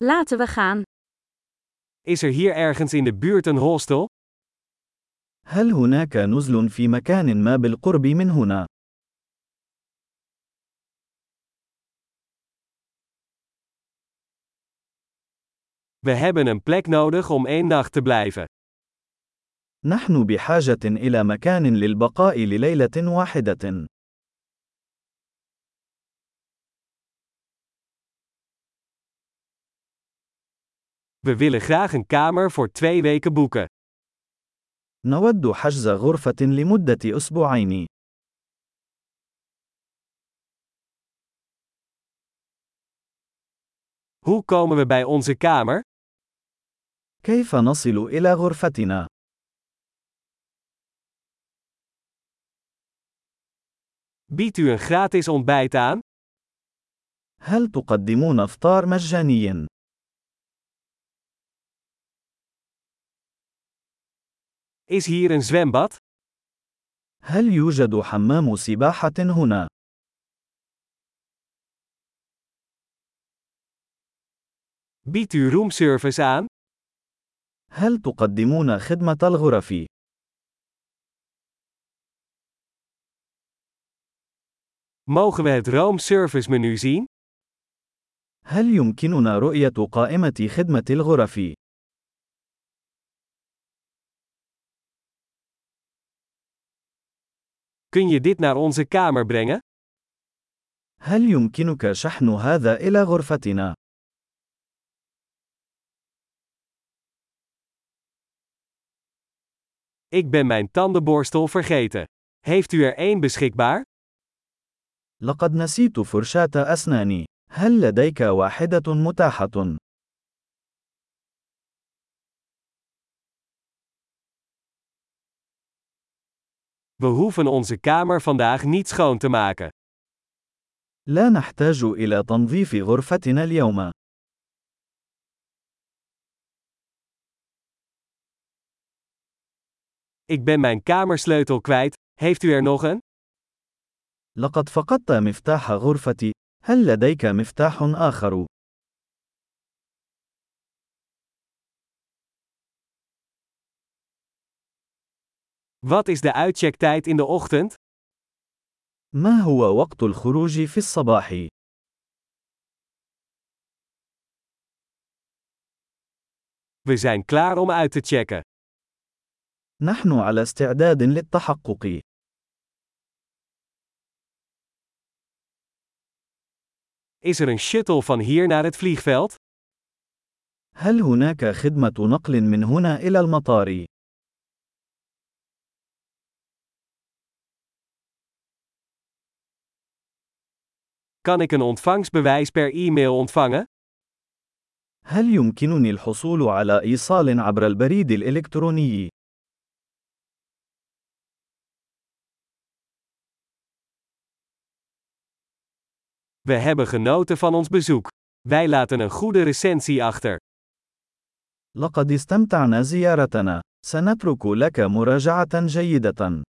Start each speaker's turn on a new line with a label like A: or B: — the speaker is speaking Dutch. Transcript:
A: Laten we gaan.
B: Is er hier ergens in de buurt een hostel?
C: هل هناك نزل في مكان ما بالقرب من هنا؟
B: We hebben een plek nodig om 1 nacht te blijven.
C: نحن بحاجة إلى مكان للبقاء لليلة واحدة.
B: We willen graag een kamer voor 2 weken boeken.
C: نود حجز غرفة لمدة أسبوعين.
B: Hoe komen we bij onze kamer?
C: كيف نصل إلى غرفتنا؟
B: Biedt u een gratis ontbijt aan?
C: هل تقدمون إفطار مجاني؟
B: Is hier een zwembad?
C: هل يوجد حمام سباحة هنا؟
B: Biedt u roomservice aan?
C: هل تقدمون خدمة الغرف؟
B: Mogen we het roomservice menu zien?
C: هل يمكننا رؤية قائمة خدمة الغرف؟
B: Kun je dit naar onze kamer brengen?
C: هل يمكنك شحن هذا إلى غرفتنا؟
B: Ik ben mijn tandenborstel vergeten. Heeft u er 1 beschikbaar?
C: لقد نسيت فرشاة أسناني. هل لديك واحدة متاحة؟
B: We hoeven onze kamer vandaag niet schoon te maken.
C: لا نحتاج إلى تنظيف غرفتنا اليوم.
B: Ik ben mijn kamersleutel kwijt. Heeft u er nog een?
C: لقد فقدت مفتاح غرفتي. هل لديك مفتاح آخر؟
B: Wat is de uitchecktijd in de ochtend?
C: ما هو وقت الخروج في الصباح؟
B: We zijn klaar om uit te checken.
C: نحن على استعداد للتحقق.
B: Is er een shuttle van hier naar het vliegveld?
C: هل هناك خدمة نقل من هنا إلى المطار؟
B: Kan ik een ontvangstbewijs per e-mail ontvangen?
C: هل يمكنني الحصول على إيصال عبر البريد الإلكتروني؟
B: We hebben genoten van ons bezoek. Wij laten een goede recensie achter.
C: لقد استمتعنا زيارتنا. سنترك لك مراجعة جيدة.